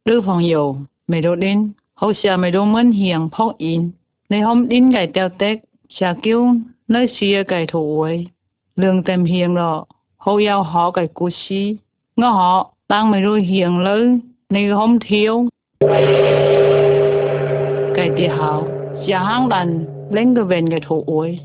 nữ phong yêu mày đồ đến hậu xa mày đồ mơn hiền phóc inในห้องดิ้นไก่เตียวเต็กชากิ้วเนื้อเสียไก่ถูไว้เรื่องเต็มเฮียงหรอเขายาวหอไก่กุชีง้อหอตั้งไม่รู้เฮียงเลยในห้องเที่ยวไก่ตีหาวเสียห้างดันเล่นกระเวนไก่ถูไว้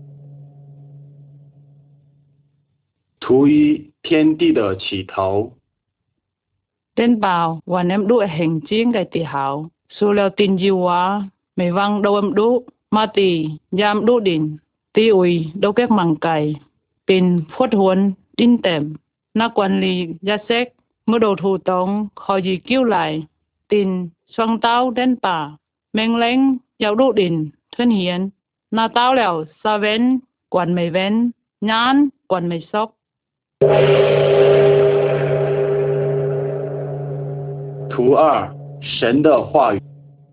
图一天地的起头， เต้นเปล่าวันเอ็มดูแห่งจิ้งไก่ตีหาวสู้แล้วตินจิวาไม่วังโดเอ็มดูมาตียามดูดินตีอุยโดแก๊กมังไก่ตินพวดหวนดินเต็มนักวันลียาเซ็กเมื่อโดถูตองคอยยีกิ้วไหลตินสวงเต้าเต้นป่าแมงเล้งยาวดูดินเทือนเหียนหน้าเต้าแล้วซาเว้นกวนไม่เว้นยานกวนไม่ซอก图二神的话语，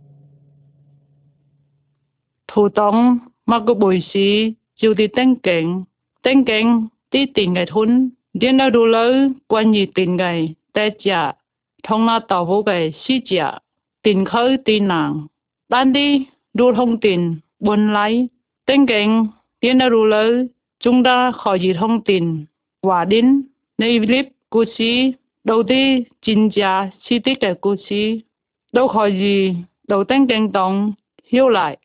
thủ tông mà có bồi xí chiều thì tên cảnh tí tiền ngày thun điên đâu đủ lớn quan gì tiền ngày tê chả thông na tàu vô ngày xí chả tiền khơi tiền nàng đan đi đủ thông tiền buồn lấy tên cảnh điên đâu đủ lớn chúng ta khỏi gì thông tiền quả đến nơi clip cô xí đầu tiên chính trả chi tiết cái cô xí đâu khỏi gì đầu tên cảnh tổng hiểu lại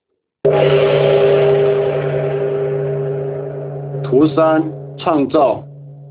图三创造，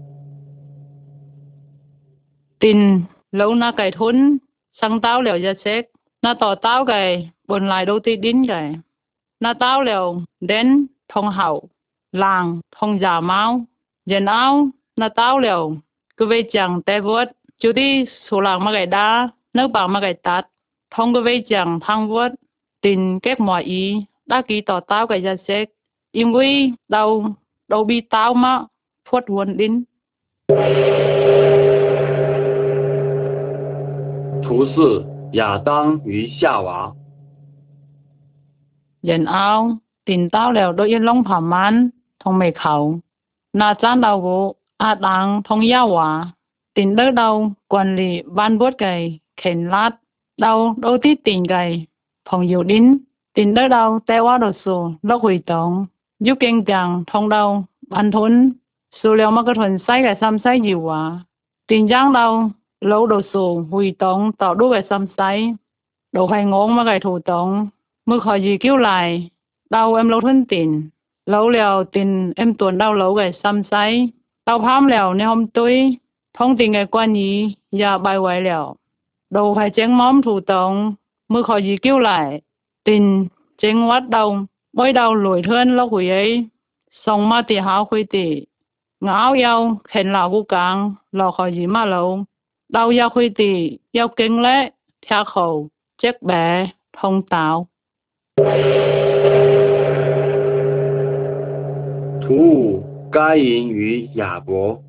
tin lâu na cải thốn sang tao liều ra xét na tỏ tao cái buồn lại đâu ti đín cái na tao liều đến thông hậu làng thông giả máu dân áo na tao liều cứ về chẳng té vớt chú đi số làng mà cái đá nước bằng mà cái tát thông cứ về chẳng thăng vớt tin kết mọi ý đã ký tỏ tao cái ra xét im quy đâu đâu bị tao mà phốt huân đín 图四亚当与夏娃， dân áo tin tao liều đôi yên long phàm man thông mê khẩu na chan đầu gỗ a đàng thông ya hòa tin đỡ đầu quản lý ban bốt gầy khen lát đầu đôi tít tin gầy phòng dụ đín tin đỡ đầu tê quá đồ sù lốc hủy tổng giúp kinh chẳng thông đầu ban thốn sù liều mà cái thuần say cái xăm say dịu hòa tin giang đầu lâu đồ sù hủy tổng tạo đu cái xăm say đồ khai ngôn mà cái thủ tổngมื่อขอยีกิ้วไหลเดาเอ็มเราทุนตินเล้าแล้วตินเอ็มตัวเดาเล้าไก่ซ้ำไซเดาพามแล้วในห้องตุ้ยท้องติงไก่กวนยีอย่าใบไหวแล้วดูไข่เจ้งม้อมถูตองมื่อขอยีกิ้วไหลตินเจ้งวัดเดาบ่อยเดาหลวยเทือนแล้วหุยไอ้ส่งมาตีหาคุยตีเหงายาวเข็นเหล่ากูกลางเราขอยีมาเล้าเดายาคุยตียาวเก่งและเทียเขาเจ๊กแบทองเตา图五该隐与亚伯，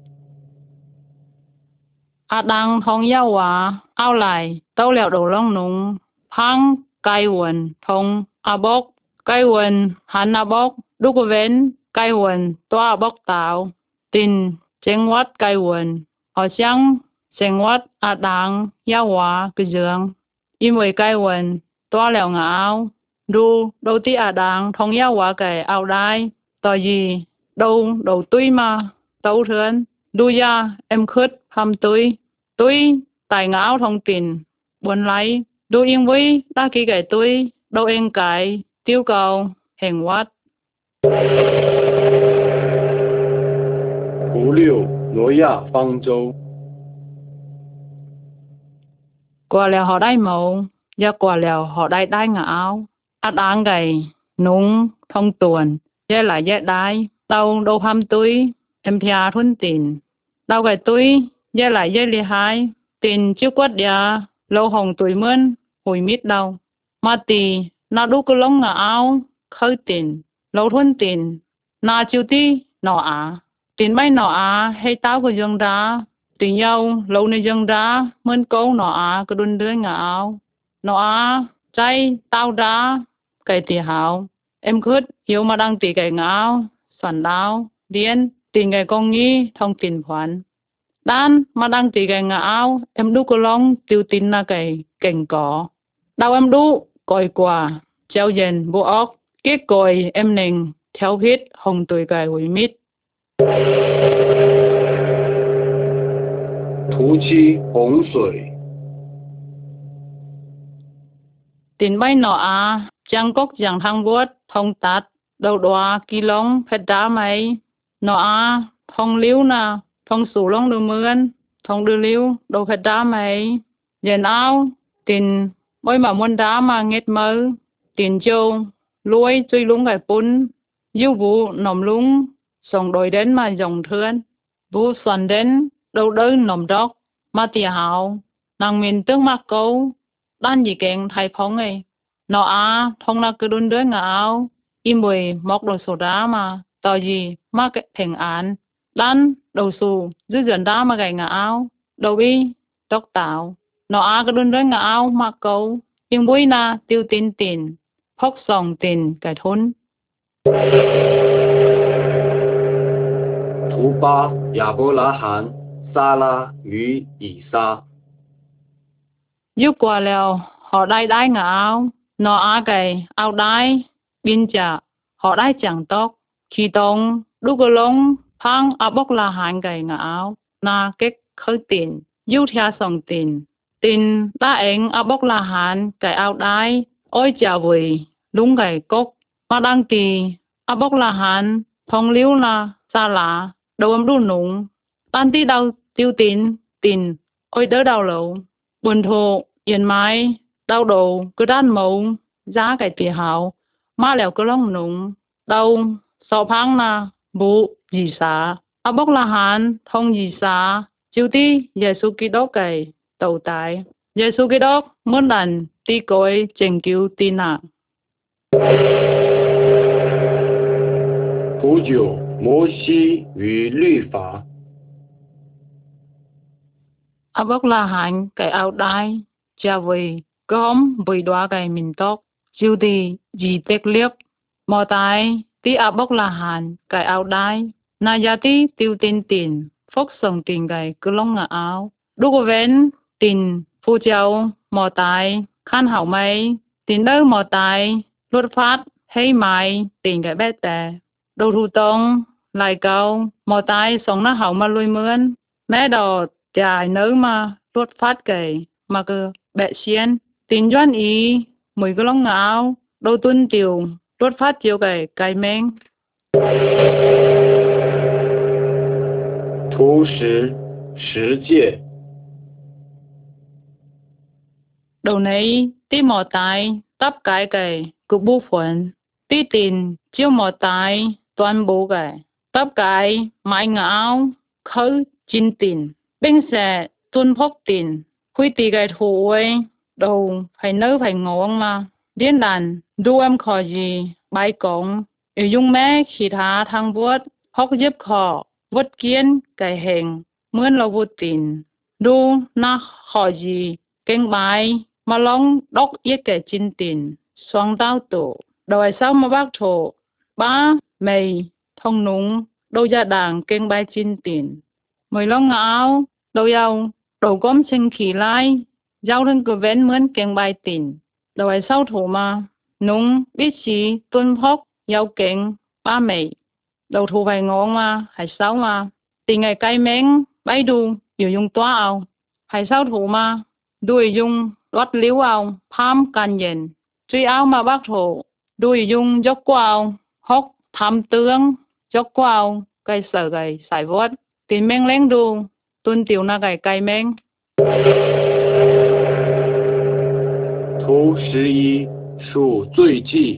อาดังทองเย้าหวาเอาไหลเต้าเหลียวดูล่องนุงพังไกวนทงอาบกไกวนหันอาบกลูกเว้นไกวนตัวอาบกตาวตินเจงวัดไกวนหอช่างเจงวัดอาดังเย้าหวากระเจืองอิมวยไกวนตัวเหลียวเหงาดูดูที่อาดังทองเย้าหวาไก่เอาได้ต่อยีดูตุ้ยมาเต้าเทือนดูยาเอ็มคืดทำตุ้ยtài ngáo thông tin buồn lấy đôi yên với đa kỳ cáiตุ้ยđâu yên cái tiêu cầu hẹn quát 图六挪亚方舟， quả lèo họ đai màu và quả lèo họ đai ngáo át áng gầy núng thông tuần dễ lại dễ đai đâu hamตุ้ยem thia thuần tin đâu cáiตุ้ยdễ lại dễ li hai tin chiếu quát ya lâu hồng tuổi mướn hồi mít đâu mà tì na đu cứ lông ngáo khơi tin lâu thuần tin na chiếu ti nọ tin bay nọ hay tao của dương ra tình nhau lâu nay dương ra mướn câu nọ cứ đun đưa ngáo nọ trái tao ra cái tì hào em khứt hiếu mà đang tì cái ngáo soàn đáo điên tin cái con nghi thông tin khoản đan mà đang tì cái ngáo em đu cô long tiêu tin na cái cảnh có. Đau em đu, còi quả, treo dền bộ óc, kết còi em nình, theo hít hồng tuổi cài hủy mít. 突起洪水， Tin bay nọ chang cốc giang thang vuốt, thông tát, đầu đoá kỳ lông, phết đá mấy. Nọ thông liu na, thông sủ lông đưa mươn, thông đưa liu, đầu phết đá mấy. Dền áo, tin bôi mà muôn đá mà nghết mơ, tin châu, lùi chui lúng gài pun, yêu vụ nòm lúng, xong đôi đến mà dòng thươn. Vụ xoắn đến, đầu đới nòm đốc, mà tìa hào, nàng miền tương mạc câu, đan gì kẹng thay phóng ấy. Nọ thông là cứ đun đới ngả áo, im bùi mọc đồ sổ đá mà, tỏ gì mà cái thành án. Đan đầu xù, dư dần đá mà gầy ngả áo, đầu bi, đốc tạo. Nọ cứ đun đới ngả áo mà câu, im bùi na tiêu tin tin, phốc sòng tin cái thôn. 图巴亚伯拉罕、撒拉与以撒。 Giúp qua lèo, họ đai đai ngả áo, nọ cái áo đai, biên chả, họ đai chẳng tóc, khi tông, đu cơ lông, phang bốc là hành cái ngả áo, na kết khơi tiền, giúp theo sòng tiền đa anh bốc là hành cái áo đai, ôi chả vùi, đúng cái cốc, mà đang tì, bốc là hành, thông liu là xa lá, đầu đu núng, tan tí đau tiêu tin, ôi đỡ đau lẩu. Buồn thụ, yên mai, đau đầu, cứ đan mẫu, giá cái tì hào, má lèo cứ lông núng, đau, sọ phang na, bụ, dì xá, bốc là hàn, thông dì xá, chiêu tí, Giê-xu Kitô cái, tàu tái, Giê-xu Kitô, muốn lần, tí cối, trình cứu tí nặng. 图九摩西与律法， Bốc là hàn, cái áo đai, chà vầy, gom, bùi đoá cái mình tóc, chiêu tí, dì tếc liếp, mò tai, tí bốc là hàn, cái áo đai, na giá tí tiêu tin, phốc sòng tin cái cứ lông ngả áo. Đu cô vén, tin, phu châu, mò tai, khăn hảo mây, tin đỡ mò tai, luật phát, hay mai, tin cái bé tè. Đầu thủ tông, lại câu, mò tai sống nó hảo mà lùi mướn, mẹ đỏ, chài nớ mà, luật phát cái, mà cứ bẹ xiên, tin doan ý, mùi cái lông ngả áo, đầu tuân tiểu, luật phát chiều cái mênh. 图十十诫， Đầu này, tí mò tai, tắp cái, cục bu phấn, tí tin, chiếu mò tai, toàn bộ tắp cái, mãi ngáo, khơi, chín tin, bên xe, tuân phốc tin, khuy tì cái thủ ấy, đầu, phải nơ phải ngon mà, điên đàn, đu em khó gì, bài cổng, yêu dung mẹ khi thá thang vuốt, hóc giúp khó, vốt kiến, cái hình, mướn lâu vô tin, đu, na khó gì, kênh bài, mà long đốc yết cái chín tin, xoang đau tổ, đầu ai sao mà bác thổ, ba, mày, thông núng, đâu gia đảng kênh bài chín tin, mười long ngáo, đâu giàu, đầu gom sinh khí lai, giao thân của vén mướn kênh bài tin, đầu ai sao thổ mà, núng, biết gì, tuân phốc, giàu kênh, ba mày, đầu thổ phải ngon mà, hay sao mà, tình ngày cay mến, bay đu, yêu dùng toa ao, hay sao thổ mà, đuôi dùng, đót liếu ao, phám can dền, truy ao mà bác thổ, đuôi dùng dốc quào, hốc, tham tương, dốc quào, cây sở gầy, sải vót, tình men lén đu, tuân tiểu na gầy cay men. 图十一数罪祭，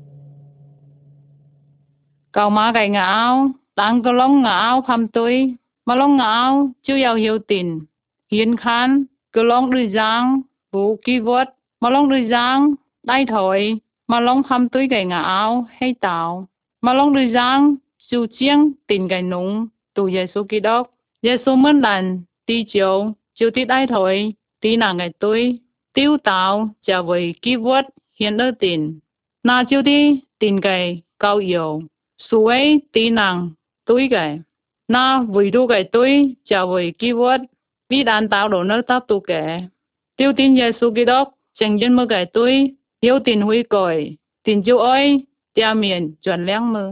Cầu má gầy ngã áo, đang có lông ngã áo phàm tươi, mà lông ngã áo, chưa giàu hiểu tình, hiền khán, cứ lông đuôi giang, vũ kỳ vốt, mà lông đuôi giang, đai thổi, mà lông phàm tươi gầy ngã áo, hay tạo, mà lông đuôi giang, siêu chiêng, tình gầy núng, tù Giê-xu Kitô, Giê-xu mơn lần, tí chiều, chiều tí đai thổi, tí nàng gầy tươi, tiêu tạo, chả với kỳ vốt, hiền đơ tình, na chiều tí, tình gầy, cao yếu, suy tí năng túi cái na vui đu cái túi chào với kỳ vật vì đàn tạo đồ nơi tao tu cái tiêu tin Giêsu Kitô chẳng dân mơ cái tôi hiếu tin huy còi tin chú ơi tia miền chuẩn lẽng mơ.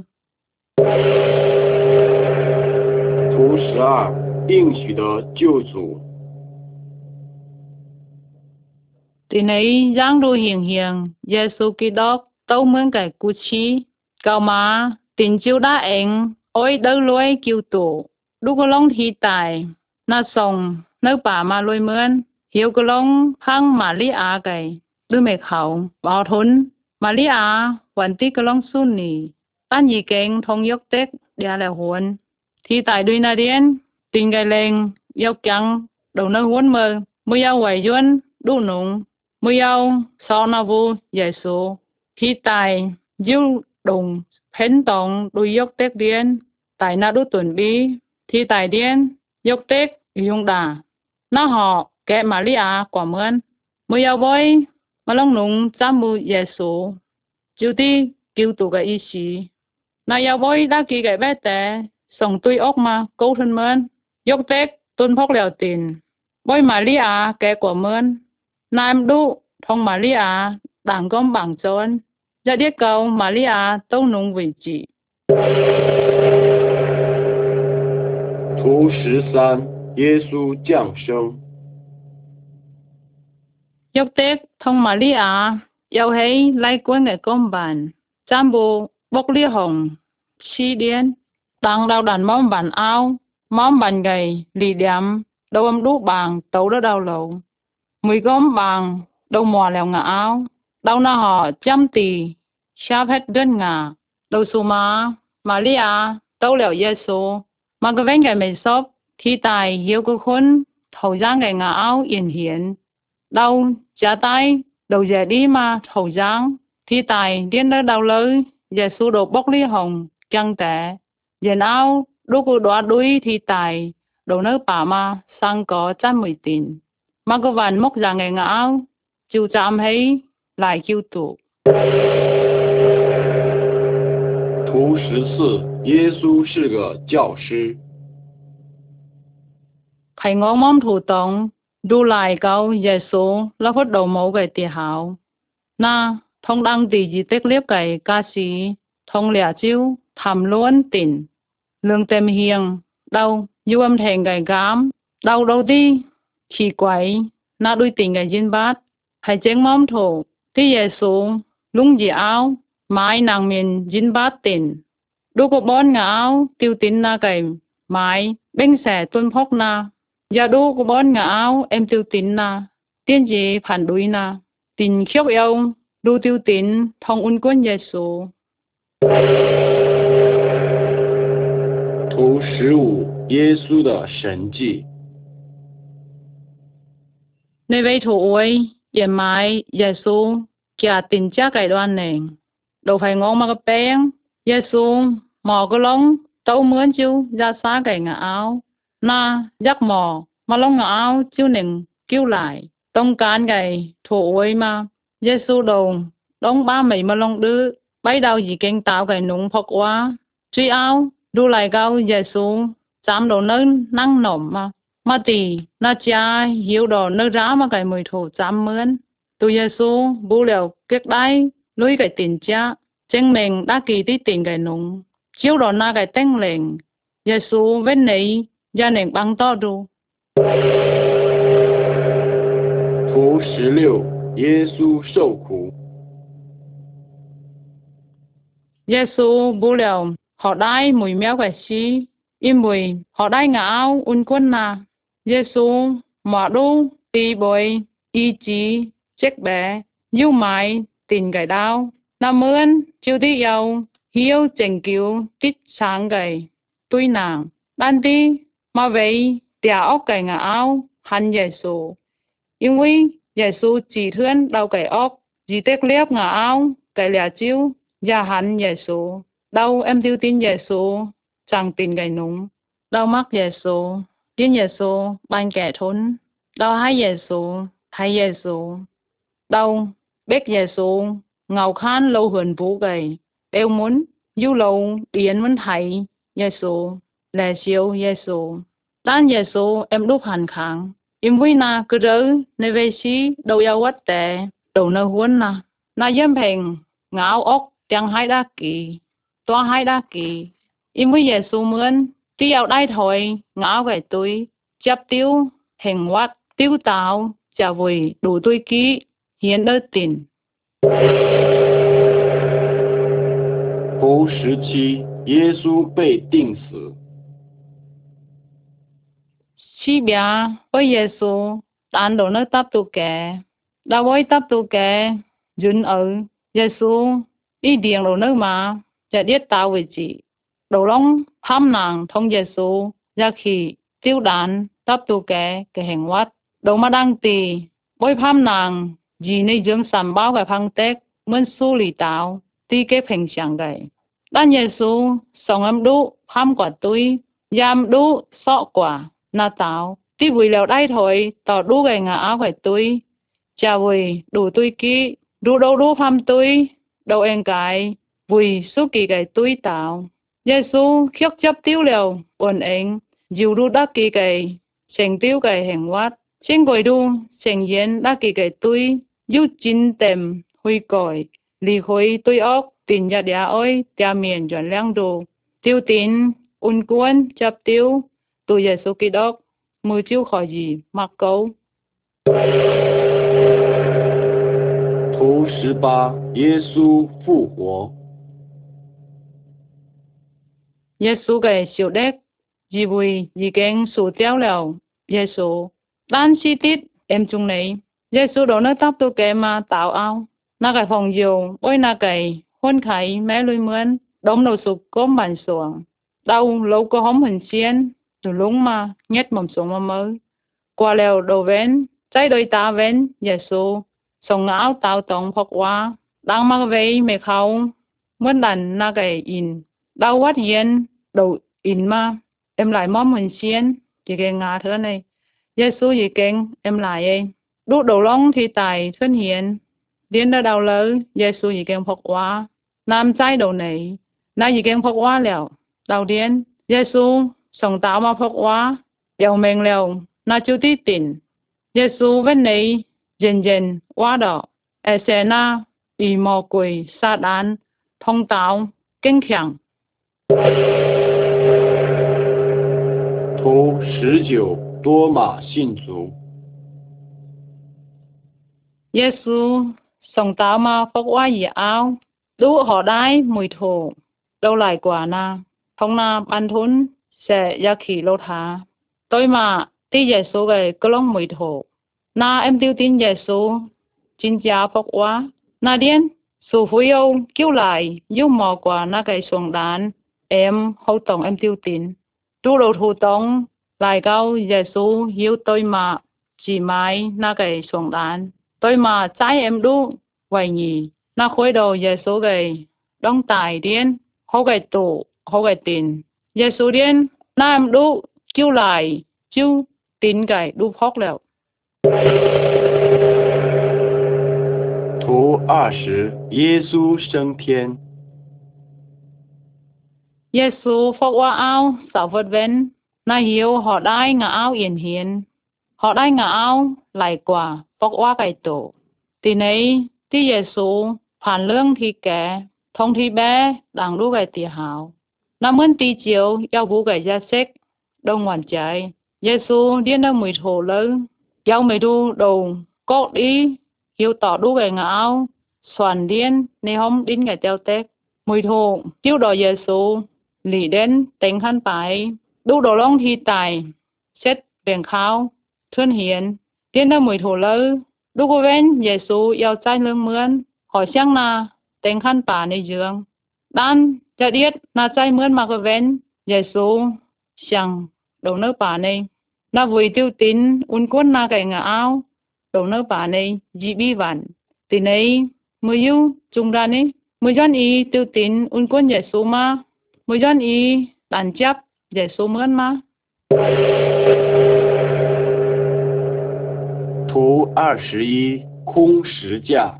图12应许的救主。 Tin ấy giang đô hiền hiền Giêsu Kitô tâu mướn cái cú chi cầu mà tin chú đã anh ôi đâu lối cứu tụ đu có long thi tài na song nơi bà mà lôi mướn hiếu có long hăng mà lý á cái đứa mẹ khẩu bảo thốn mà lý á hoàn tí có long xuân nì tan gì kênh thông dốc tết đĩa là huấn thi tài đuôi na điên tin cái lên dốc trắng đầu nơi huấn mơ mưa yêu quẩy duân đu nung mưa yêu sau na vu giải số thi tài diêu đồng phén tòng đuôi dốc tết điên tại na đu tuần bi thi tài điên dốc tết dùng đà na họ kẻ Maria quả mơn mưa yêu boy mà long nung chăm mu giải số chú ti cứu tụ cái ý chí na yêu boy đã kỳ cái bé té sống tui ốc mà câu thân mơn dốc tết tuân phúc liều tiền boy Maria kẻ quả mơn nam đu thông Maria đảng công bằng trốn ra điết cầu Maria tâu nung vị trí. 图13耶稣降生。 dốc tết thông Maria yêu hay lai quân cái công bản chăm bù bốc lia hồng chi điên đang đau đàn móm bản ao móm bản gầy lì đếm đầu âm đúc bằng tấu đó đau lầu mùi gom bằng đầu mò lèo ngả áo đau na họ chăm tì sáp hết đơn ngả đầu su má Maria tấu lèo Giêsu mà cái vén cái mày xốp thi tài hiếu cái khốn thầu giang cái ngả áo yên hiển đau trả tay đầu giờ đi mà thầu giang thi tài điên đó đau lớn Giêsu đồ bốc ly hồng căng tệ giờ áo đu cô đoá đuôi thi tài đầu nơi bà mà sang có trăm mười tiền mà có vàn mốc ra ngày ngáo chú chạm thấy lại kêu tụ. 图14耶稣是个教师。 Thầy ngón móm thủ tổng đu lại câu Giêsu là phút đầu mẫu cái tì hảo na thông đăng tì gì tích liếp cái ca sĩ thông lẻ chiếu thầm luôn tỉnh lương tem hiền đâu du âm thành cái gám đâu đâu đi chỉ quậy na đuôi tỉnh cái dinh bát thầy chén móm thủ tí Giêsu lung gì áo mái nàng miền dinh bát tỉnh đu có bón ngã áo tiêu tín na cái mái bênh xẻ tuân phốc na giờ đu có bón ngã áo em tiêu tín na tiên gì phản đối na tín khiếp yêu đu tiêu tín thông un quân Giêsu. 图15耶稣的神迹。 Nơi vây thủ ơi yên mái Giêsu kia tín chắc cái đoan này đâu phải ngon mà cái bén Giêsu mò cái lông tấu mướn chú ra xa cái ngã áo na dắt mò mà lông ngã áo chú nền kêu lại tông cán cái thủ ơi mà Giêsu đầu đóng ba mấy mà lông đứa bấy đầu gì kinh tạo cái núng phọc quá truy áo đu lại cao Giêsu chạm đầu nơi năng nổm mà tì na cha hiếu đồ nơi rá mà cái mùi thủ chạm mướn tu Giêsu bù liều kết đáy lùi cái tiền cha chân mình đã kỳ tí tiền cái núng chiếu đồ na cái tên lệnh Giêsu bên này gia nền băng to ru. 图16耶稣受苦。 Giêsu bù liều họ đai mùi méo cái xí im mùi họ đai ngã áo un quân na Giêsu mỏ đu tì bồi y chí chết bé yêu mái tình cái đau nam mướn chiêu tí yêu hiếu chỉnh cứu tít sáng cái tuy nàng ban đi mà vậy tia ốc cái ngã áo hắn Giêsu因为Giêsu chỉ thuyên đau cái ốc chỉ tiếc liếp ngã áo cái lẻ chiếu và hắn Giêsu đau em tiêu tin Giêsu chẳng tin cái núng đau mắc Giêsu tin Giêsu ban kẻ thốn đau hai Giêsu thấy Giêsu đau biết Giêsu ngầu khan lâu huyền vũ gầy đều muốn du lâu điền muốn thấy Giêsu lẻ siêu Giêsu đan Giêsu em đúc hàn kháng im vui na cứ rớ nơi về xí đầu yêu quát tệ đầu nơi huấn na yếm hình ngáo ốc tiếng hai đa kỳ toa hai đa kỳ im vui Giêsu mướn tí yêu đai thôi ngáo cái túi chấp tiêu hình quát tiêu tạo chả vui đủ túi ký hiến đỡ tin. 头17，耶稣被钉死。 Chi bia với Giêsu đàn đồ nơi tắp tu kẻ đã với tắp tu kẻ dùn ở Giêsu ý điện đồ nơi mà chả điết tạo về chị đồ long tham nàng thông Giêsu ra khi tiêu đàn tắp tu kẻ cái hành quát đồ mà đang tì với tham nàng gì nơi dương sàm báo cái phăng tết muốn su lì tạo tì cái hình象cái đàn Giêsu sống âm đu tham quả túi giam đu sọ quả na tạo tí vui lèo đai thôi tỏ đu cái ngã áo cái túi chà vui đủ túi kỹ đủ đâu đủ pham túi đâu em cái vui số kỳ cái túi tạo Giêsu khiết chấp tiêu lèo ổn anh dù đủ đắc kỳ cái thành tiêu cái hành quát trên quầy đu thành yên đắc kỳ cái túi dù chín tèm huy còi lì khối túi ốc tin ra đĩa ơi tia miền chuẩn lăng đồ tiêu tín un cuốn chấp tiêu tu Giêsu Kitô mười chiếu khỏi gì mặc câu. 图18，耶稣复活。 Giêsu cái siêu đét gì vui gì kén sủ téo lèo Giêsu đan chi tít em chung này Giêsu đó nó tóc tu kẻ mà tạo ao na cái phòng diều ôi na cái hôn khải mẹ lui mướn đống đầu sụp cốm bàn xuồng đau lâu có hóm hình xiên từ lúng mà nhét mầm xuống mà mới qua lèo đồ vén trái đôi ta vén Giêsu sòng áo tạo tổng phật hóa đang mặc váy mẹ khâu muốn đàn na cái in đau quát hiền đầu in mà em lại móm hình xiên chỉ cái ngà thế này Giêsu gì kén em lại ấy đút đầu lông thì tài thân hiền điên đã đau lớn Giêsu gì kén phật hóa nam trái đầu này na gì kén phật hóa lèo đầu điên Giêsu sòng tạo mà phật hóa dầu mình lèo na chú tí tỉnh Giêsu bên này dần dần hóa đỏ sẽ na bị mò quỷ sa đán thông tạo kinh khủng. 图19，多马信主。 Giêsu sòng tạo mà phật hóa gì áo đủ họ đái mùi thổ đâu lại quả na thông na ban thốn sẽ ra khỉ lô thá tôi mà tí Giêsu cái cơ long mùi thổ na em tiêu tin Giêsu chính gia phật hóa na điên su phu yêu kêu lại yêu mò quả na cái xuồng đàn em hậu tổng em tiêu tin đủ đầu thủ tổng lại cao Giêsu yêu tôi mà chỉ mãi na cái xuồng đàn tôi mà trái em đủ vậy nhỉ na khối đầu Giêsu cái đóng tài điên hậu cái tụ hậu cái tin Giêsu điên na em đủ kêu lại chú tin cái đủ phóc lẹo. 图20，耶稣升天。 Giêsu phóc hóa áo sao vật ven na hiếu họ đai ngã áo yên hiền họ đai ngã áo lại quả phóc hóa cái tổ tí này tí Giêsu phản lương thì kẻ thông thì bé đang đu cái tì hào na mướn tí chiếu yêu vũ cái gia sách đông hoàn trái Giêsu điên ra mùi thổ lớn yêu mày đu đầu cốt đi hiếu tỏ đu cái ngã áo soàn điên nê hông đín cái teo tét mùi thổ chiếu đòi Giêsu lì đến tính khăn bài đu đồ long thì tài xét biển khao thuyên hiền điên ra mùi thổ lớn đu cô ven Giêsu yêu trái lương mướn hỏi xem na tính khăn bà này dương đan cho điết na trái mướn mà cô ven Giêsu sang đầu nước bà này na vui tiêu tín un cuốn na cái ngã áo đầu nước bà này dị bi vạn thì này mới yêu chung ra này mới dân ý tiêu tín un cuốn Giêsu mà mới dân ý đàn chấp Giêsu mướn mà. 图21，空石架。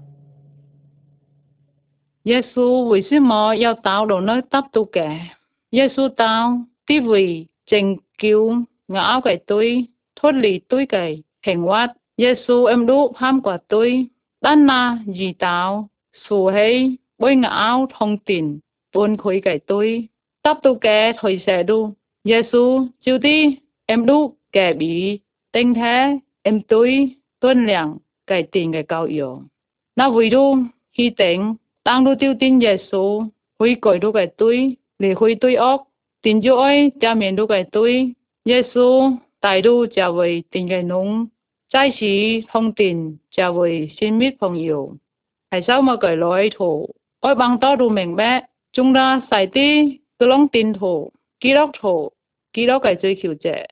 Giêsu vì sư mò yêu tạo đầu nơi tắp tu kẻ Giêsu tạo tí vì trình cứu ngã áo cái túi thốt lì túi cái Hình quát, Giê-xu em đu ham quả tôi, đan na dì táo, xù hay, bôi ngã áo thông tin, buồn khối cái tôi, tắp tu kẻ thôi xe đu. Giê-xu, chiều đi, em đu kẻ bí, tinh thế, em tôi, tuân lặng, cái tiền cái cao yếu. Na vui đu, khi tỉnh, đang đu tiêu tin Giê-xu, huy cõi đu cái tôi, lì huy tôi ốc, tin dụ ơi, cha miền đu cái tôi, Giê-xu, tại đu chào với tình cái nung, trái sĩ thông tin chào với xin mít phong yêu. Hay sao mà cái lối thủ, ôi bằng to đu mình bé, chúng ta xài tí, cứ lông tin thủ, ký đốc cái追求者。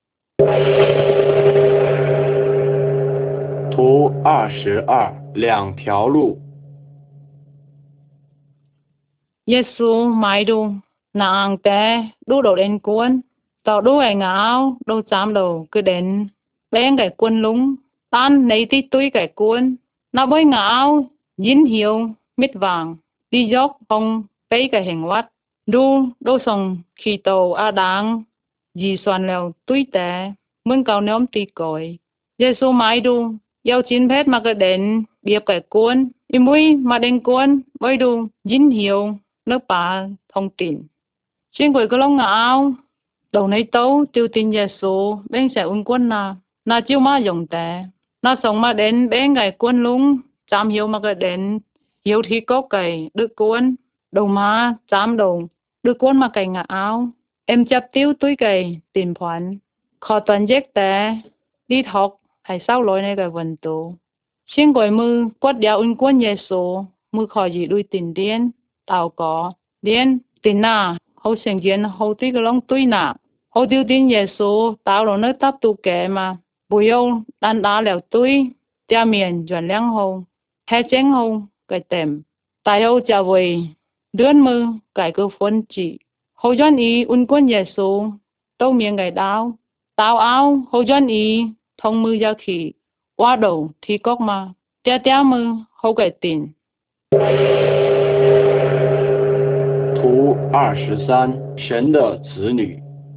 图22，两条路。 Giê-xu mai đu, nàng té, đu đầu đến cuốn, tàu đu ai ngáo, đu chám đầu cứ đến, bên cái cuốn lúng, tan nấy tí túi cái cuốn, nó bối ngáo, dính hiếu, mít vàng, đi dốc không, bấy cái hình vắt, đu xong khi tàu a đáng, dì soàn lèo túi té, muốn cầu nhóm tì còi. Giê-xu mai đu, yêu chín phết mà cứ đến, biếp cái cuốn, y mũi mà đến cuốn, bối đu, dính hiếu, lớp bà thông tin. Trên quầy có lông ngạo, đầu nấy tấu tiêu tin Giê-xu bên sẽ un quân na chiêu mà dùng tệ. Na sống mà đến bên ngày quân lúng, chám hiếu mà cái đến, hiếu thì có cái đức quân, đầu mà chám đầu, đức quân mà cái ngạ áo. Em chấp tiêu túi cái tiền khoản, khó toàn giết tệ, đi học hay sao lối này cái vấn tụ. Trên quầy mư quát đeo un quân Giê-xu, mư khó gì đuôi tiền điên, tao có, điên, tiền na, hậu sinh viên hậu tí cái lông túi na. Hậu tiêu tin Giê-xu tạo rồi nơi tắp tu kẻ mà bùi yêu đàn đá lèo túi tia miền chuẩn lăng hậu hè chén hậu cái tèm tại hậu chào về đươn mơ cái cơ phân chỉ hậu doan ý un quân Giê-xu tâu miệng cái đau tao áo hậu doan ý thông mư ra khỉ qua đầu thì cốc mà tia tia mơ hậu cái tiền. 图23，神的子女。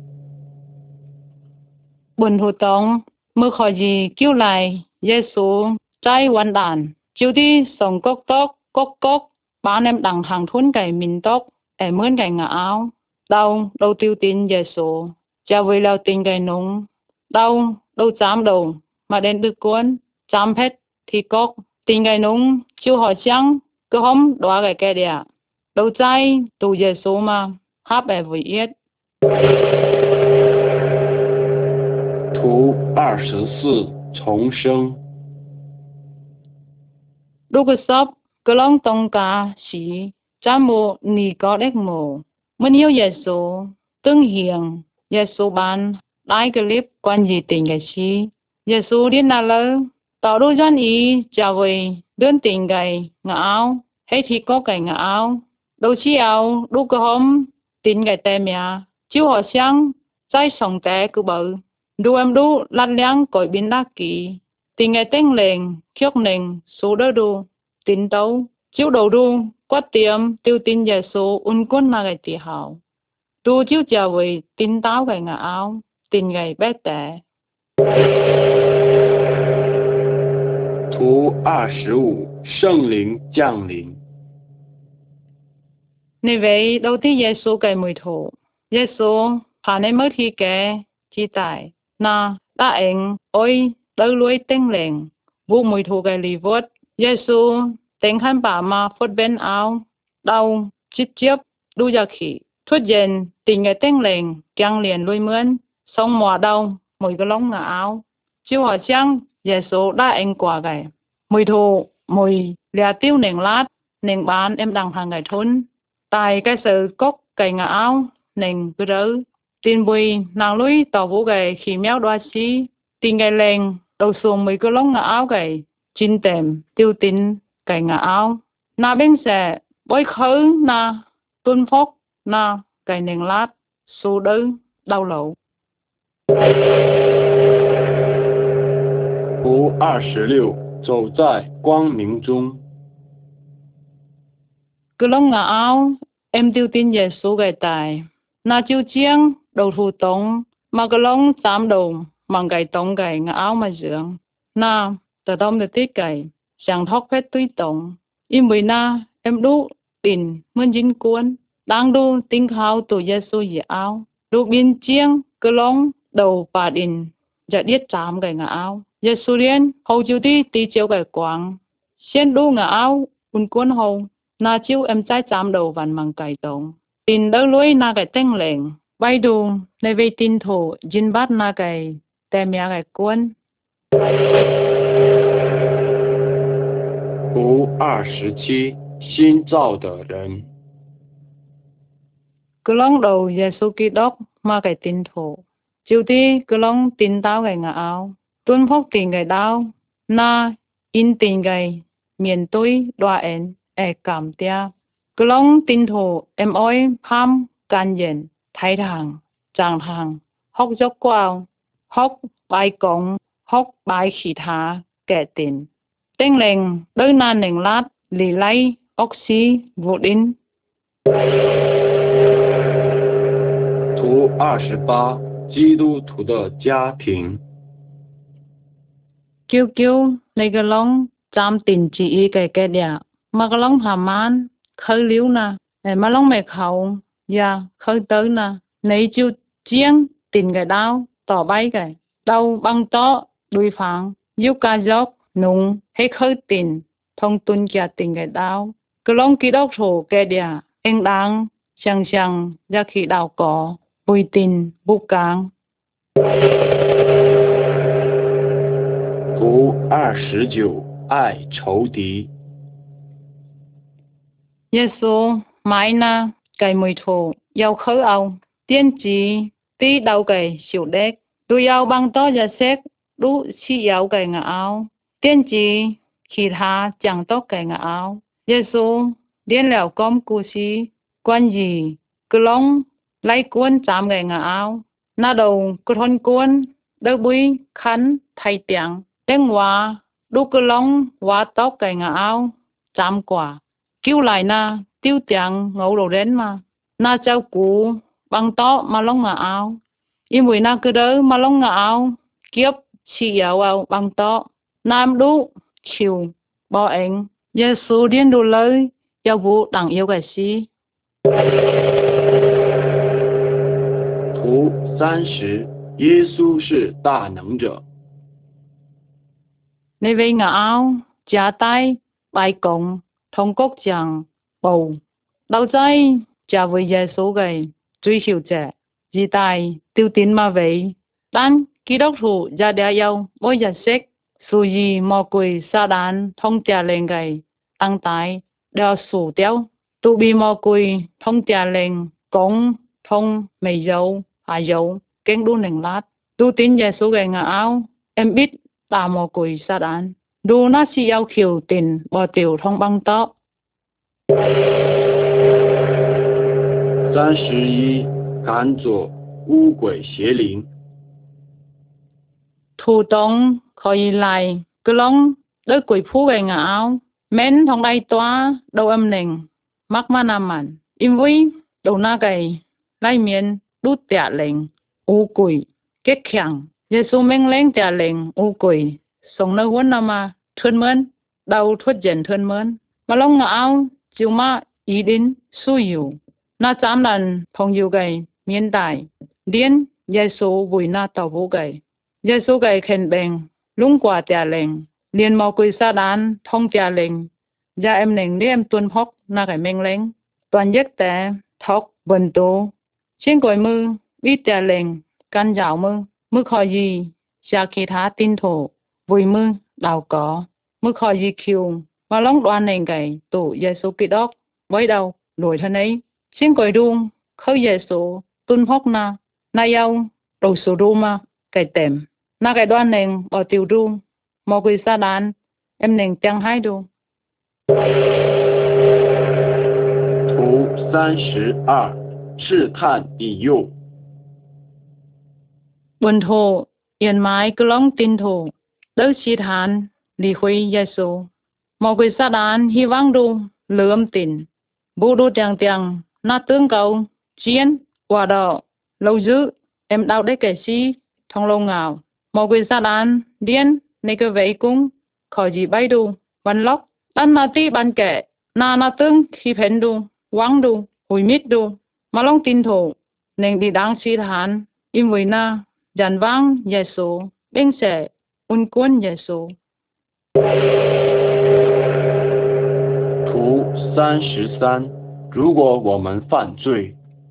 Buồn hồ tông, mơ khỏi gì kêu lại, Giê-xu, trái hoàn đàn, chiếu đi sống cốc cốc, bán em đằng hàng thun cái mình tóc, em mướn cái ngã áo, đâu tiêu tin Giê-xu, cha với lao tin cái nung, đâu chám đầu, mà đến được cuốn, chám hết, thì cốc, tin cái nung, chiếu hỏi chăng, cứ hôm đoá cái đẻ, đâu trái, tù Giê-xu mà, háp em với yết. 图24，重生。 lúc sắp cái lòng tông cả sĩ cha mô nì có đếch mô mình yêu Giê-xu tương hiền Giê-xu ban đại cái clip quan gì tình cái sĩ Giê-xu đi nào lỡ tạo đôi dân ý trả về đơn tình cái ngã áo hay thì có cái ngã áo đâu chi áo đu cái hôm tình cái tem ya chiếu họ sáng trái sống té cứ bự đu em đu lăn láng cõi biến đắc kỳ tình ngày tên lệnh khióc nền số đỡ đu tin tấu chiếu đầu đu quát tiệm tiêu tin Giê-xu un quân mà cái tì hào đu chiếu trả về tin táo cái ngã áo tin ngày bé tẻ. 图25，圣灵降临。 Nên vậy đầu tiên Giê-xu cái mùi thổ Giê-xu hà nên mới thi kẻ chi tại na đã anh ôi đỡ lối tên lệnh vụ mùi thổ cái lì vốt Giê-xu tên khăn bà mà phốt bên áo đau chít chiếp đu ra khỉ thuyết dền tình cái tên lệnh càng liền lôi mướn xong mùa đau mùi cái lông ngả áo chiếu hỏi chăng Giê-xu đã anh quả cái mùi thổ mùi lìa tiêu nền lát nền bán em đằng hàng cái thôn tại cái sự cốc cái ngã áo nền cứ đỡ tin bùi nàng lũy tỏ vũ cái khi méo đoa xí tin cái lệnh đầu xuồng mấy cái lông ngã áo cái chín tèm tiêu tin cái ngã áo na bên sẽ bối khứ na tuân phúc na cái nền lát su đỡ đau lẩu. 图26，走在光明中。 Cứ lông ngã áo em tiêu tin Giê-xu cái tài na chiêu chiang đầu thủ tống mà cái lông chám đầu mang cái tông cái ngã áo mà dưỡng na tờ đông được tiết cái chẳng thóc phết tuy tông im với na em đu tin muốn dính cuốn đang đu tinh khao tụ Giêsu dễ áo đu biên chiêng cơ long đầu bà đình dạ điết chạm cái ngã áo Giêsu liên hầu chiếu tí chiếu cái quang xuyên đu ngã áo un cuốn hầu na chiếu em trái chạm đầu vằn mang cái tông tin đỡ lối na cái tên lệnh bay đuในเวทินโถจินบัดนาไก่แต่เมียไก่กวน图27新造的人。 cứ lóng đầu Giêsu Kitô mà cái tin thổ chiều tí cứ lóng tin tao cái ngã áo tuân phúc tin cái đau na in tin cái miền tôi đoa en cảm tia cứ lóng tin thổ em ơi pham can yen thái thangจางทางhóc dốc quao hóc bài cổng hóc bài khỉ thá kẻ tiền tên lệnh đôi nan nền lát lì lấy oxy vô đinh. 图28基督徒的家庭。 kêu kêu này cái long chăm tiền chỉ cái địa mà cái long hàm man khơi liu na mà long mẹ khẩu ya khơi tới na này chiêu chiang tiền cái đau tỏ bay cái đau băng to đuôi phẳng yêu ca dốc nung hay khơi tiền thông tuân kia tiền cái đau cái long kí đốc thổ cái địa anh đang sang ra khi đào cỏ bùi tiền bục càng. 图29爱仇敌。 Giêsu mãi na cái mùi thổ yêu khơi ao tiên chỉ tí đầu cái xỉu đét đu yêu băng to ra xét đu chi yêu cái ngã áo tiên chỉ khi tha chẳng tốt cái ngã áo Giêsu điên lẻo com cu si quan gì cứ long lấy cuốn chạm cái ngã áo na đầu cứ thon cuốn đỡ bui khăn thay tiếng tiếng hoa đu cứ long hoa tóc cái ngã áo chạm quả kêu lại na tiêu tiếng ngầu đầu đến mà na cháu cú băng to mà long ngã áo im mùi na cứ đỡ mà long ngã áo kiếp chỉ áo băng to nam đu chiều bỏ anh Giêsu điên đủ lời yêu vụ đặng yêu cái gì. 图30耶稣是大能者。 Nơi về ngã áo trả tay bài cộng thông cốc chẳng bầu đầu dây trả với Giêsu cái truy hiểu trẻ gì tài tiêu tín mà vậy đan ký đốc thủ ra đeo yêu bôi giờ xích su gì mò quỳ sa đàn thông trả lên cái tăng tài đeo sủ tiêu tu bi mò quỳ thông trả lên cống thông mày dâu hà dâu kén đu nền lát tu tín Giêsu cái ngã áo em biết ta mò quỳ sa đàn đu nó chỉ yêu khiêu tiền bỏ tiểu thông băng to. 31赶走污鬼邪灵。 thủ tông khỏi lại cứ long đôi quỷ phú về ngã áo mến thông đây toa đầu âm nền mắc ma nam mặn im vui đầu na gầy lai miền đút tẹt lệnh u quỷ kết khẳng Giêsu men lên tẹt lệnh u quỷ sống nơi huấn nam mà thơn mơn đầu thuất dần thơn mơn mà long ngã áo chiều ma ý đến su yếu na chám lần thông yếu gầy miền đại điên Giêsu vui na tàu vũ gầy Giêsu cái khen bèn lung quả trả lệnh liền mò quỳ sa đàn thông trả lệnh ra em nền đi em tuân phúc na cái men lệnh toàn giấc té thóc bần tố trên cội mư biết trả lệnh căn dạo mư khỏi gì xa khi thá tin thổ vui mư đào có mư khỏi gì kiều mà lóng đoan nền cái tổ Giêsu Kitô với đầu lùi thân ấy trên cội đuông khơi Giêsu tuân phúc na yêu đầu số đu mà cái tèm na cái đoan nền bỏ tiêu đu mò quỳ sa đàn em nền chẳng hai đu. 图32试探引诱。 Buồn thổ yên mái cứ lóng tin thổ đỡ chi thán lì khuy Giêsu mò quỳ sa đàn hy vọng đu lưỡm tin bù đu tiếng na tương cầu chiến quả đỏ lâu dữ em đau đấy kẻ si thông lâu ngào một quỷ sát án điên này cái vậy cũng khỏi gì bay đu văn lóc đan na ti ban kẻ na tương khi phèn đu quăng đu hủy mít đu mà long tin thủ nên đi đáng suy thán im với na dàn vang Giêsu bên sẽ un quân Giêsu 图33，如果我们犯罪，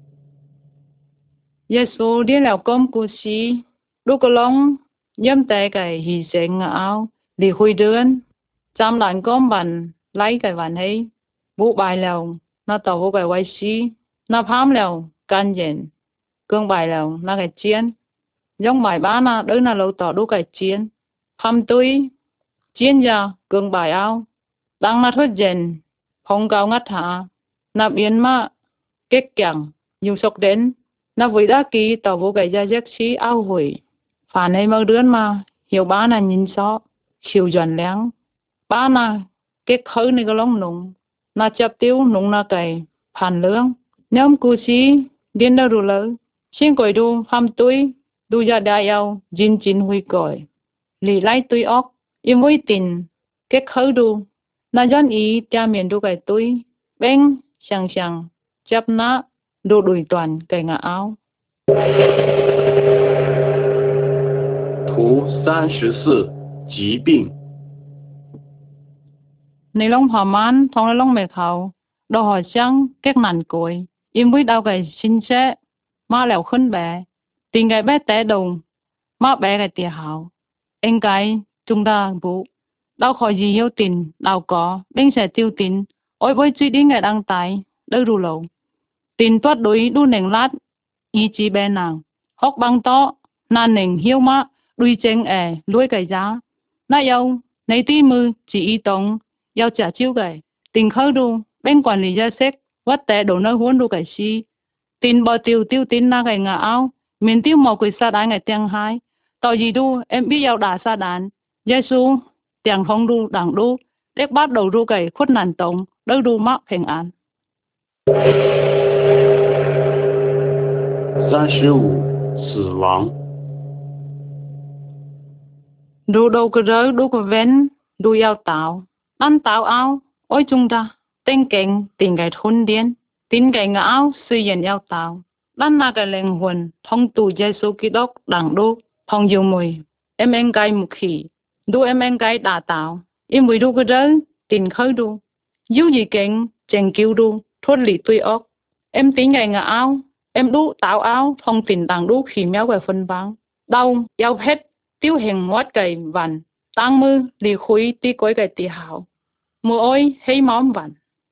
Giêsu đi leo com cú si đu個long nhâm tay cái hy sinh áo đi khui đơn chăm đàn com bàn lấy cái bàn hay bu bài leo na tàu bu cái quay si na phám leo can diện cương bài leo na cái chiến giống bài ba na đỡ na lâu tỏ đu cái chiến phám túi chiến ra cương bài áo đang na thốt diện phong cao ngắt hạ na biến ma kết chẳng dùng sọc đến na với đã ký tàu vô cái gia giác sĩ ao hủy phản ấy mơ đứa mà hiểu ba na nhìn rõ chiều dần láng ba na kết khơi này cái lông nung na chập tiêu nung na cái phản lương nhóm cú sĩ điên đâu rồi lỡ xin còi đu ham túi đu ra đại ao chín chín huy còi lì lại túi óc im với tình kết khơi đu na dân ý cha miền đu cái túi bên sàng sàng chập na đu đuổi toàn cái ngã áo 图34，疾病。 ในลงหอมันทองในลงเมฆเขาดอกหอยช่างแก๊กนันกวยอิมวิดเอาไก่ชินเชะมาแล้วขึ้นแบติงไก่แบแต่ดงมาแบไก่เตียหาวเอ็งไก่จุงดาบุดาวคอยยีเหี่ยวตินดาวก่อเบ้งแสติวตินโอ้ยบอยจุดดิ้งไก่ดังตายเลิกดูเหลาตินตัวดุยดูเหน่งลัดอีจีแบนางฮอกบังโตนานเหน่งเหี่ยวมาดุยเจงลุยไก่จ้าน่าเยาในตีมือจีอีตง 要trả chiếu cái tình khơi đu bên quản lý gia sách vắt té đổ nơi huấn đu cái si tin bò tiêu tiêu tin na cái ngã áo miền tiêu mò quỳ sa đán ngày tiếng hai tao gì đu em biết giao đà sa đán Giêsu tiếng phong đu đảng đu đếch bắt đầu đu cái khuất nàn tổng đỡ đu mắc平安 35，死亡。 đu đâu cái rớ đu cái ven đu giao tạo ăn tạo áo ôi chúng ta tên cảnh tình cái thôn điên tin cái ngã áo suy diễn giao tạo đan na cái linh hồn thông tu Giêsu Kitô đảng đu thông yêu mùi em cái mục khí đu em cái đà tạo im mùi đu cái rớ tình khơi đu yêu gì cảnh chèn kêu đu thôn lì tuy ốc em tính cái ngã áo em đu tạo áo thông tình đảng đu khí méo cái phân băng đau giao hết tiêu hình ngoát cái vằn tăng mư lì khuy tí cối cái tì hảo mùa ôi hay móm vằn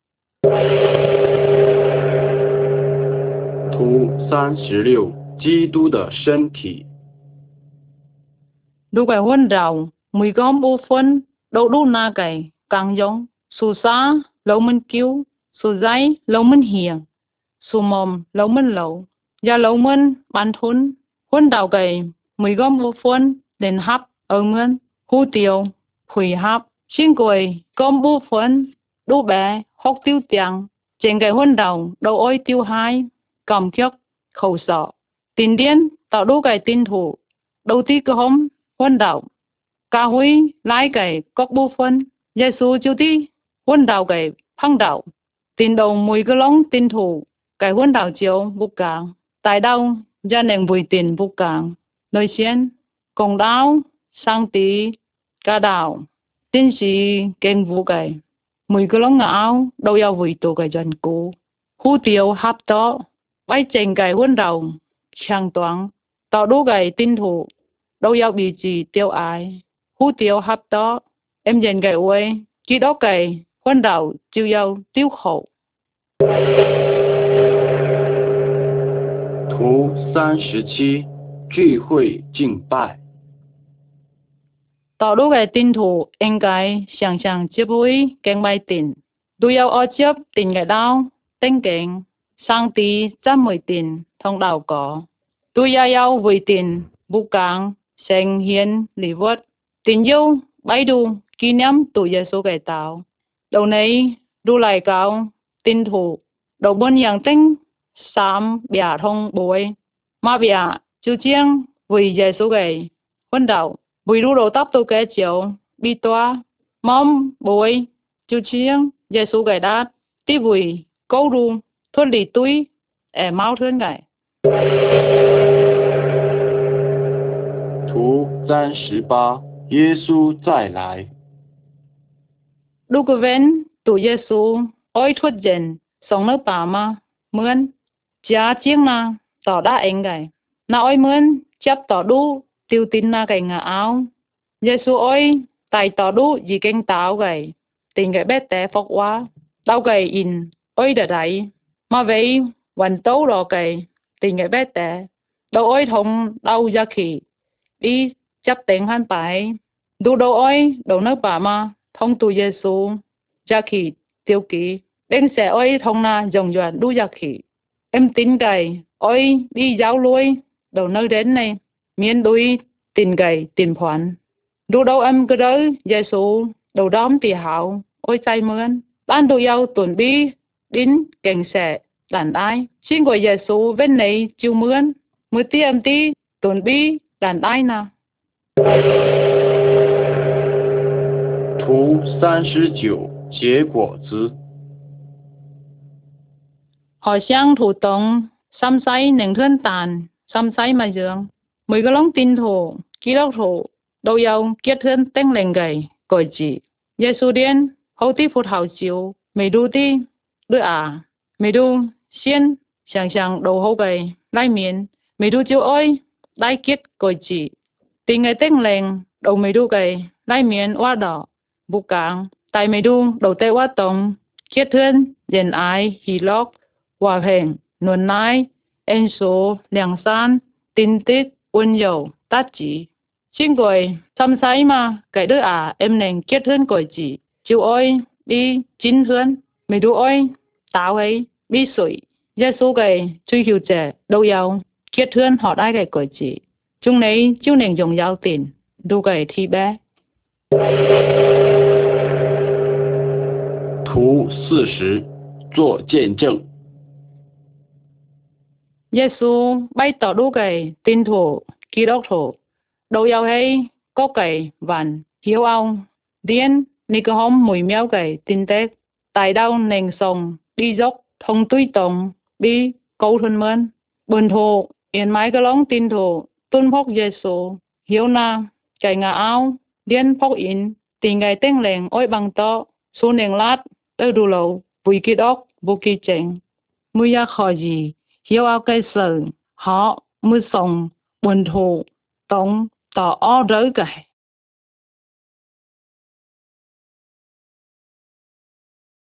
图36，基督的身体。 đu cái huân rào mùi gom bu phân đậu đu na cái càng giống su sa lâu mình cứu su giấy lâu mình hiền su mồm lâu mình lâu và lâu mình bán thun huân rào cái mùi gom bu phân đến hấp ở mình hú tiêu quỳ hấp xin quỳ gom bu phân đu bé hốc tiêu tiếng trên cái huân rào đầu ôi tiêu hai cầm kiếc khẩu sọ tin điên tạo đu cái tin thủ đầu tiên cơ hôm huân đạo ca huy lái cái cốc bu phân Giêsu chiêu ti huân đạo cái phăng đạo tin đầu mùi cái lông tin thủ cái huân đạo chiếu bu càng tại đâu gia nền bùi tiền bu càng nơi xiên công đạo sang tí ca đạo tin sĩ kênh vu cái mùi cái lông áo đâu yêu bùi tổ cái dân cũ hú tiêu hấp đó bay trên cái huân đạo sang toán tạo đu cái tin thủ đâu yêu bị gì tiêu ai hú tiêu hấp đó em dành cái uế chỉ đó cái huân đạo chiêu yêu tiêu khổ 图37，聚会敬拜。 tạo đu cái tin thủ em cái sẵn sàng tiếp với kênh bài tin đâu yêu ở tiếp tin cái đau tên kênh sang tí trăm mười tin thông đạo có đâu yêu với tin bu càng sinh hiến lý vật tin yêu bài đu kỷ niệm tu Giêsu cái tạo đầu này đu lại cao tin thủ đầu bên yang tên sám bia thông bồi mà bia chú chiang với Giêsu cái Quân đầu, bùi đu đồ tóc tu kẻ chiều, bi toa, mom, bùi, chú chiêng, Giê-xu gầy đát, tí bùi, câu đu, thuần lì túi, mau thương gầy. 图38，耶稣再来。 Đu cơ ven, tụ Giê-xu, ôi thuất dền, sống nước bà mà, mươn, chá chiêng na, tỏ đá anh gầy. Na ôi mươn, chấp tỏ đu, tiêu tin na gầy ngà áo. Giê-xu ôi, tài tỏ đu, dì kênh táo gầy, tình gầy bé té phóc quá, đau gầy in, ôi đợt ấy. Mà vậy, vẫn tấu đỏ gầy, tình gầy bé té, đâu ôi thông đau ra khỉ, đi chấp tình hắn bài. Đu đâu ôi, đâu nước bà mà, thông tụ Giê-xu, ra khỉ, tiêu ký, đến sẽ ôi thông na dòng doan đu ra khỉ. Em tin gầy, ôi đi giáo lui, đâu nơi đến này, miên đuôi, tin gầy, tin khoản. Đu đâu em cứ đó, Giê-xu, đầu đóm tì hảo, ôi chay mướn. Ban đu yêu tuần bi, đến cảnh sẽ, đàn ai. Xin của Giê-xu bên này chiêu mướn, mới tí em tí, tuần bi, đàn ai nào. 图39，结果子。 Họ sang thủ tổng, xăm say nền thuyên tàn, xăm say mà dương. Mười cái lông tin thủ, ký đốc thủ, đầu yêu kết thuyên tên lên gầy, gọi chị. Giê-xu điên, hậu tí phút hậu chiếu, mày đu tí, đứa à. Mày đu, xiên, sàng đầu hậu gầy, lai miền. Mày đu chiếu ôi, lai kết gọi chị. Tình ngày tên lên, đầu mày đu gầy, lai miền hoa đỏ, bù cảng. Tại mày đu, đầu tê hoa tổng, kết thuyên, dền ai, hì lóc, hòa hình, nuôn nai, en số, liang san, tin tít, uốn dầu, tát chỉ. Xin gọi, xăm say mà, cái đứa à, em nên kết hôn gọi chị. Chú ơi, đi, chín hôn, mày đu ơi, tao ấy, đi sủi. Giê-xu gầy, truy hiểu trẻ, đâu yêu, kết hôn họ ai gầy gọi chị. Chúng này, chú nên dùng giao tiền, đu gầy thi bé. 图40，做见证。 Giê-xu bay tỏ đu gầy, tin thủ, ký đốc thủ. Đâu yêu hay, có gầy, vằn, hiếu ông. Điên, ni cơ hôm mùi méo gầy, tin tết. Tại đâu nền sông, đi dốc, thông túi tổng, đi, câu thuần mơn. Bần thủ, yên mái cơ lóng tin thủ, tuân phóc Giê-xu. Hiếu na, cái ngà áo, điên phóc in, tình gầy tên lệnh ôi bằng to, su nền lát, đỡ đu lâu, vui ký đốc, vô ký chênh. Mùi ya khó gì, hiếu áo cây sở, họ, mùi sông, bần thủ, tổng, tỏ ó rỡ gầy.